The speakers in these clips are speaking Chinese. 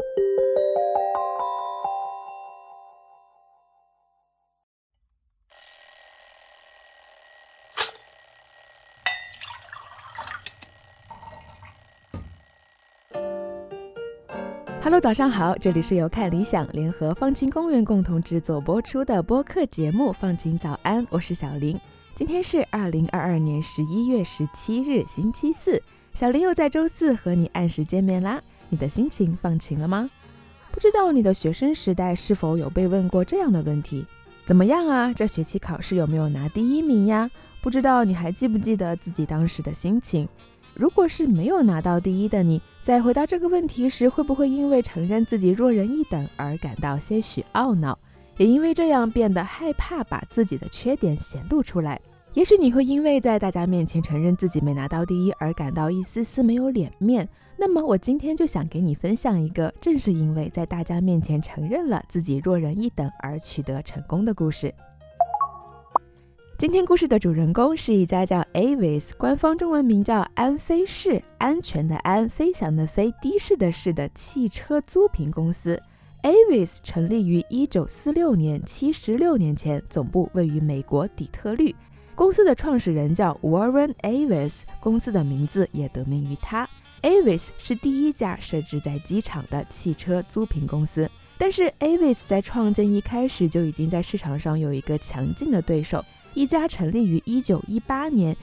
Hello， 早上好，这里是由看理想联合放晴公园共同制作播出的播客节目放晴早安，我是小林。今天是2022年11月17日星期四，小林又在周四和你按时见面啦。你的心情放晴了吗？不知道你的学生时代是否有被问过这样的问题，怎么样啊，这学期考试有没有拿第一名呀？不知道你还记不记得自己当时的心情？如果是没有拿到第一的你，在回答这个问题时，会不会因为承认自己弱人一等而感到些许懊恼，也因为这样变得害怕把自己的缺点显露出来？也许你会因为在大家面前承认自己没拿到第一而感到一丝丝没有脸面。那么我今天就想给你分享一个正是因为在大家面前承认了自己弱人一等而取得成功的故事。今天故事的主人公是一家叫 Avis， 官方中文名叫安飞士，安全的安，飞翔的飞，的士的士的汽车租赁公司。Avis 成立于1946年，76年前，总部位于美国底特律。公司的创始人叫 Warren Avis， 公司的名字也得名于他。Avis 是第一家设置在机场的汽车租赁公司，但是 Avis 在创建一开始就已经在市场上有一个强劲的对手，一家成立于1918年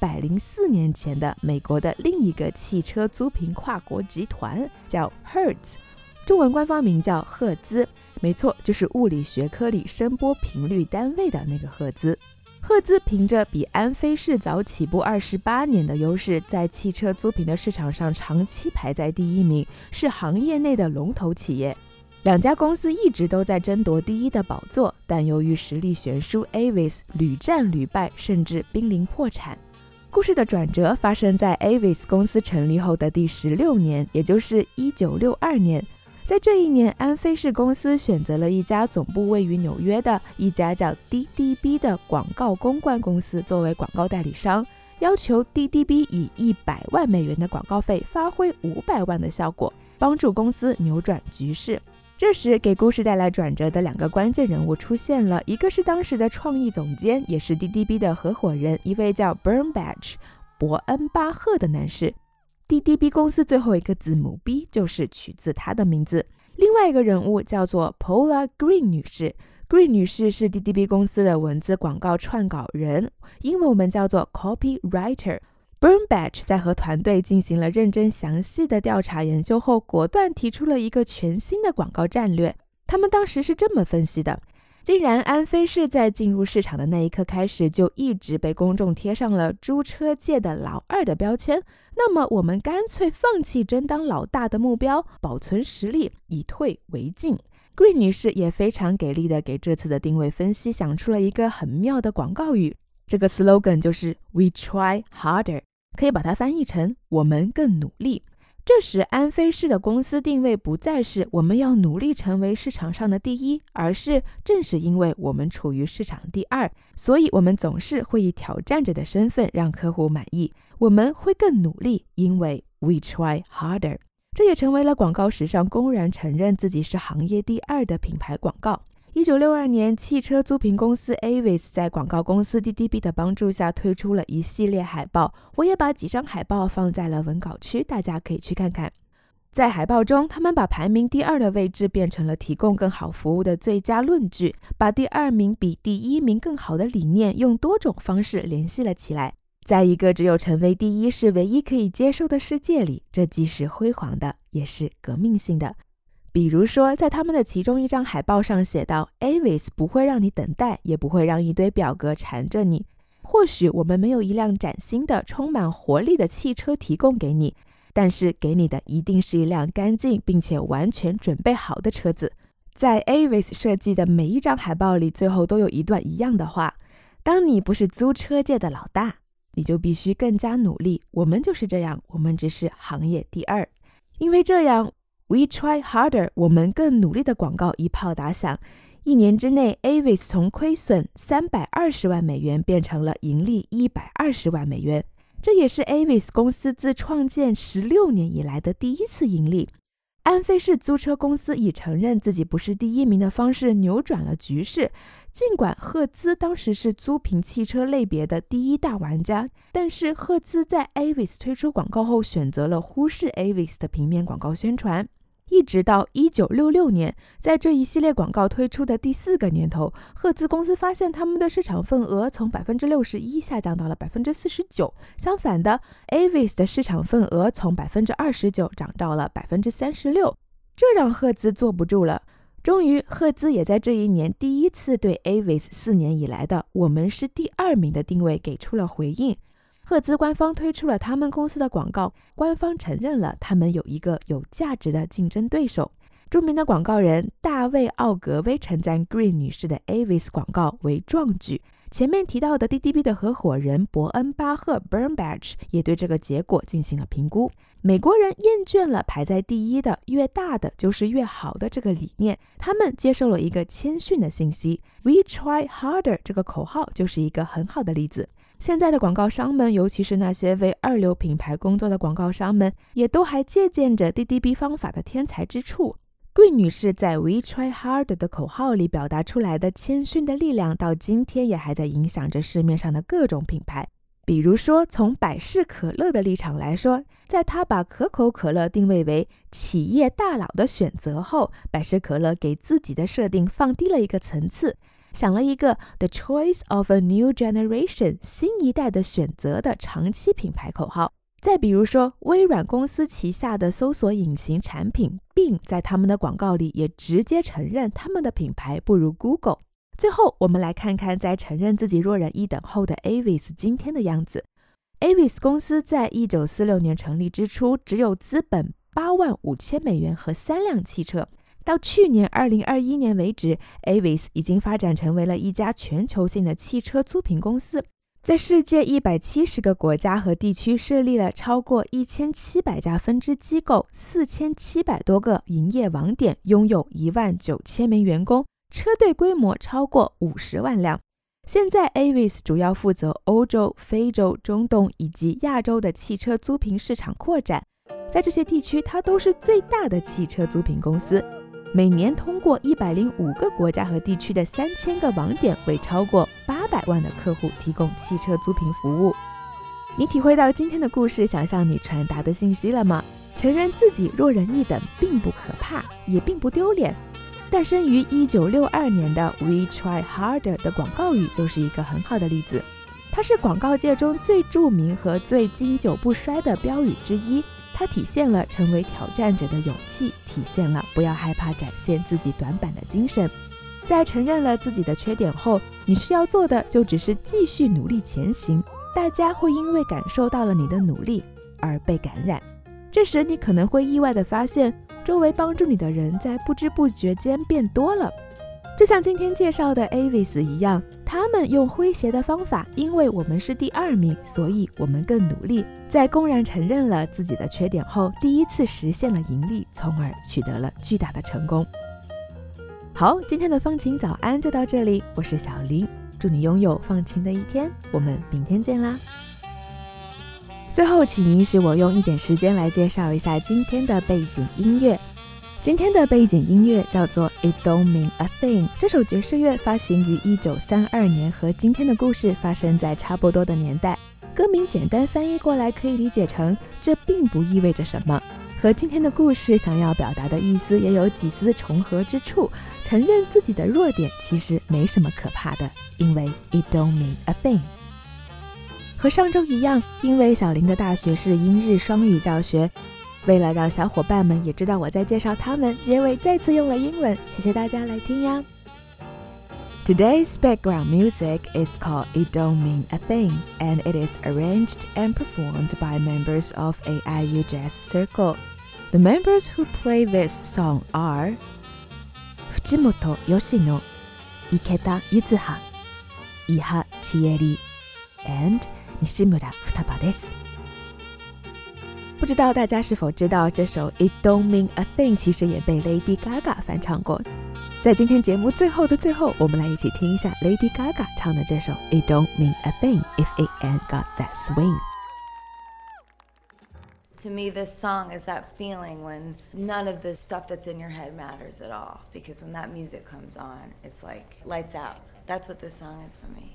104年前的美国的另一个汽车租赁跨国集团，叫 Hertz， 中文官方名叫赫兹，没错，就是物理学科里声波频率单位的那个赫兹。赫兹凭着比安飞士早起步28年的优势，在汽车租赁的市场上长期排在第一名，是行业内的龙头企业。两家公司一直都在争夺第一的宝座，但由于实力悬殊， Avis 屡战屡败，甚至濒临破产。故事的转折发生在 Avis 公司成立后的第16年，也就是1962年。在这一年，安飞士公司选择了一家总部位于纽约的一家叫 DDB 的广告公关公司作为广告代理商，要求 DDB 以$100万的广告费发挥500万的效果，帮助公司扭转局势。这时给故事带来转折的两个关键人物出现了，一个是当时的创意总监，也是 DDB 的合伙人，一位叫 Bernbach 伯恩巴赫的男士。DDB 公司最后一个字母 B 就是取自他的名字。另外一个人物叫做 Paula Green 女士， Green 女士是 DDB 公司的文字广告串稿人，英文我们叫做 Copywriter。Bernbach 在和团队进行了认真详细的调查研究后，果断提出了一个全新的广告战略。他们当时是这么分析的：既然安飞士在进入市场的那一刻开始就一直被公众贴上了租车界的老二的标签，那么我们干脆放弃争当老大的目标，保存实力，以退为进。Green 女士也非常给力的给这次的定位分析想出了一个很妙的广告语，这个 slogan 就是 We try harder， 可以把它翻译成我们更努力。这时安飞士的公司定位不再是我们要努力成为市场上的第一，而是正是因为我们处于市场第二，所以我们总是会以挑战者的身份让客户满意，我们会更努力，因为 We try harder。 这也成为了广告史上公然承认自己是行业第二的品牌广告。1962年，汽车租赁公司 Avis 在广告公司 DDB 的帮助下推出了一系列海报，我也把几张海报放在了文稿区，大家可以去看看。在海报中，他们把排名第二的位置变成了提供更好服务的最佳论据，把第二名比第一名更好的理念用多种方式联系了起来。在一个只有成为第一是唯一可以接受的世界里，这既是辉煌的，也是革命性的。比如说，在他们的其中一张海报上写道 Avis 不会让你等待，也不会让一堆表格缠着你。或许我们没有一辆崭新的充满活力的汽车提供给你，但是给你的一定是一辆干净并且完全准备好的车子。在 Avis 设计的每一张海报里，最后都有一段一样的话：当你不是租车界的老大，你就必须更加努力，我们就是这样，我们只是行业第二。因为这样We try harder， 我们更努力的广告一炮打响。1年之内 Avis 从亏损$320万变成了盈利$120万，这也是 Avis 公司自创建16年以来的第一次盈利。 安徽市租车公司以承认自己不是第一名的方式扭转了局势。尽管赫兹当时是租赁汽车类别的第一大玩家，但是赫兹在 Avis 推出广告后选择了忽视 Avis 的平面广告宣传。一直到1966年，在这一系列广告推出的第4个年头，赫兹公司发现他们的市场份额从 61% 下降到了 49%， 相反的 Avis 的市场份额从 29% 涨到了 36%， 这让赫兹坐不住了。终于，赫兹也在这一年第一次对 Avis 4年以来的我们是第2名的定位给出了回应。赫兹官方推出了他们公司的广告，官方承认了他们有一个有价值的竞争对手。著名的广告人大卫·奥格威称赞 Green 女士的 Avis 广告为壮举。前面提到的 DDB 的合伙人伯恩巴赫 Bernbach 也对这个结果进行了评估。美国人厌倦了排在第一的越大的就是越好的这个理念，他们接受了一个谦逊的信息。 We try harder 这个口号就是一个很好的例子。现在的广告商们，尤其是那些为2流品牌工作的广告商们，也都还借鉴着 DDB 方法的天才之处。Green 女士在 We Try Harder 的口号里表达出来的谦逊的力量，到今天也还在影响着市面上的各种品牌。比如说，从百事可乐的立场来说，在他把可口可乐定位为企业大佬的选择后，百事可乐给自己的设定放低了一个层次，想了一个 The choice of a new generation 新一代的选择的长期品牌口号。再比如说，微软公司旗下的搜索引擎产品 Bing 在他们的广告里也直接承认他们的品牌不如 Google。 最后我们来看看在承认自己弱人一等后的 Avis 今天的样子。 Avis 公司在1946年成立之初只有资本$85,000和3辆汽车，到去年2021年为止， Avis 已经发展成为了一家全球性的汽车租赁公司，在世界170个国家和地区设立了超过1700家分支机构，4700多个营业网点，拥有19000名员工，车队规模超过50万辆。现在 Avis 主要负责欧洲、非洲、中东以及亚洲的汽车租赁市场扩展，在这些地区它都是最大的汽车租赁公司，每年通过105个国家和地区的3000个网点，为超过800万的客户提供汽车租赁服务。你体会到今天的故事想向你传达的信息了吗？承认自己弱人一等并不可怕，也并不丢脸。诞生于1962年的 We Try Harder 的广告语就是一个很好的例子，它是广告界中最著名和最经久不衰的标语之一。它体现了成为挑战者的勇气，体现了不要害怕展现自己短板的精神。在承认了自己的缺点后，你需要做的就只是继续努力前行，大家会因为感受到了你的努力而被感染。这时你可能会意外地发现，周围帮助你的人在不知不觉间变多了。就像今天介绍的 Avis 一样，他们用诙谐的方法，因为我们是第2名，所以我们更努力，在公然承认了自己的缺点后，第一次实现了盈利，从而取得了巨大的成功。好，今天的放晴早安就到这里，我是小林，祝你拥有放晴的一天，我们明天见啦。最后请允许我用一点时间来介绍一下今天的背景音乐。今天的背景音乐叫做 It Don't Mean a Thing， 这首爵士乐发行于1932年，和今天的故事发生在差不多的年代。歌名简单翻译过来可以理解成这并不意味着什么，和今天的故事想要表达的意思也有几丝重合之处。承认自己的弱点其实没什么可怕的，因为 It Don't Mean a Thing。 和上周一样，因为小林的大学是英日双语教学，为了让小伙伴们也知道我在介绍他们，结尾再次用了英文，谢谢大家来听呀。Today's background music is called It Don't Mean a Thing, and it is arranged and performed by members of AIU Jazz Circle. The members who play this song are 藤本佳乃、池田柚葉、伊波千恵里 and 西村双葉です。不知道大家是否知道，这首 It Don't Mean a Thing 其实也被 Lady Gaga 翻唱过。在今天节目最后的最后，我们来一起听一下 Lady Gaga 唱的这首 It Don't Mean a Thing If It Ain't Got That Swing。 To me, this song is that feeling when none of the stuff that's in your head matters at all. Because when that music comes on, it's like lights out. That's what this song is for me.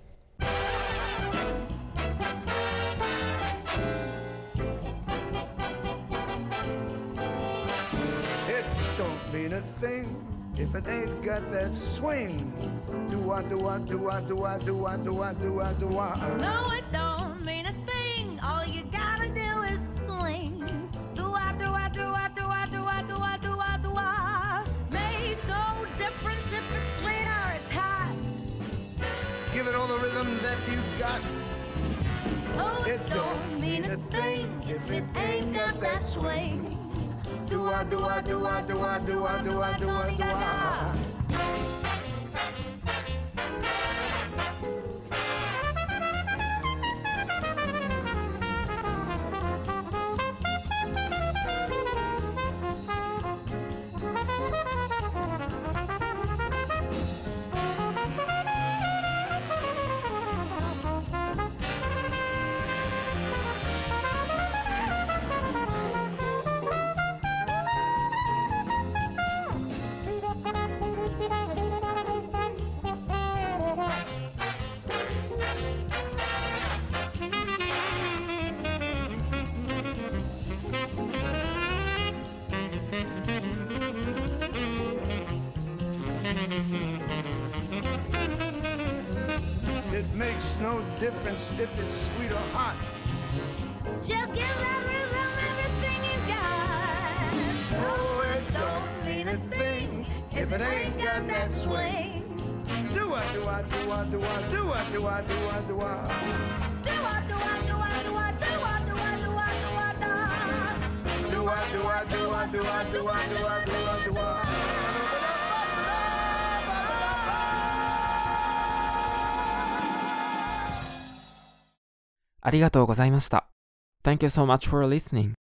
It don't mean a thing if it ain't got that swing. Do-wah, do-wah, do-wah, do-wah, do-wah, do-wah, do-wah, do-wah. No, it don't mean a thing. All you gotta do is swing. Do-wah, do-wah, do-wah, do-wah, do-wah, do-wah, do-wah, do-wah. Makes no difference if it's sweet or it's hot. Give it all the rhythm that you got. Oh, it don't mean a thing if it ain't got that swing. Do-wah, do-wah, do-wah, do-wah, do-wah, do-wah, do-wah, do-wah. It makes no difference if it's sweet or hot. Just give that rhythm everything you got. Oh, it don't mean a thing if it ain't got that swing. Do-wah, do-wah, do-wah, do-wah, do-wah, do-wah, do-wah, do-wah. Do-wah, do-wah, do-wah, do-wah, do-wah, do-wah, do-wah, do-wah, do-wah. Do-wah, do-wah, do-wah, do-wah, do-wah, do-wah, do-wah, do-wah. ありがとうございました。Thank you so much for listening.